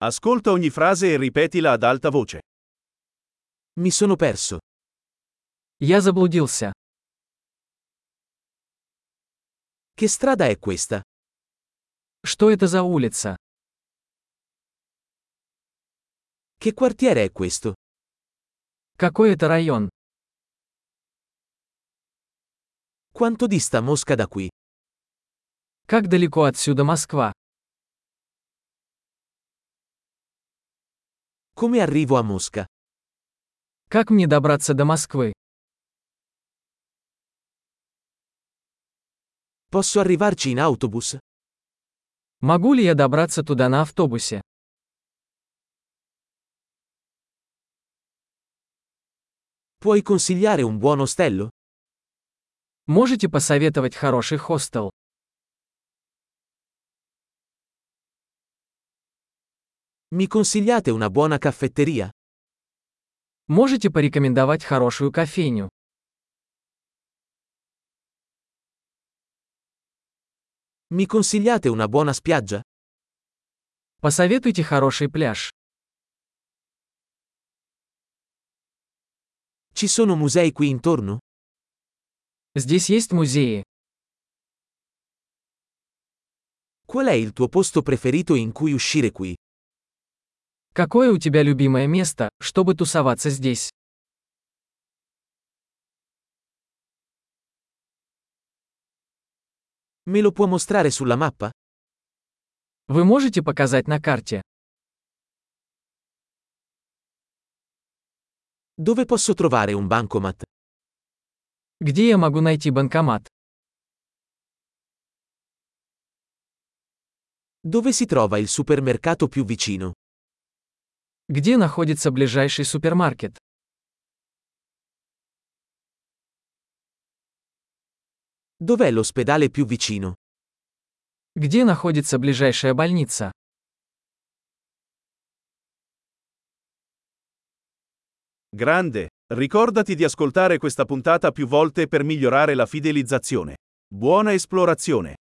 Ascolta ogni frase e ripetila ad alta voce. Mi sono perso. Я заблудился. Che strada è questa? Что это за улица? Che quartiere è questo? Какой это район? Quanto dista Mosca da qui? Как далеко отсюда Москва? Come arrivo a Mosca? Как мне добраться до Москвы? Posso arrivarci in autobus? Могу ли я добраться туда на автобусе? Puoi consigliare un buon ostello? Можете посоветовать хороший хостел? Mi consigliate una buona caffetteria? Можете порекомендовать хорошую кофейню? Mi consigliate una buona spiaggia? Посоветуйте хороший пляж. Ci sono musei qui intorno? Здесь есть музеи. Qual è il tuo posto preferito in cui uscire qui? Какое у тебя любимое место, чтобы тусоваться здесь? Me lo può mostrare sulla mappa? Вы можете показать на карте? Dove posso trovare un bancomat? Где я могу найти банкомат? Dove si trova il supermercato più vicino? Где находится ближайший супермаркет? Dov'è l'ospedale più vicino? Где находится ближайшая больница? Grande! Ricordati di ascoltare questa puntata più volte per migliorare la fidelizzazione. Buona esplorazione!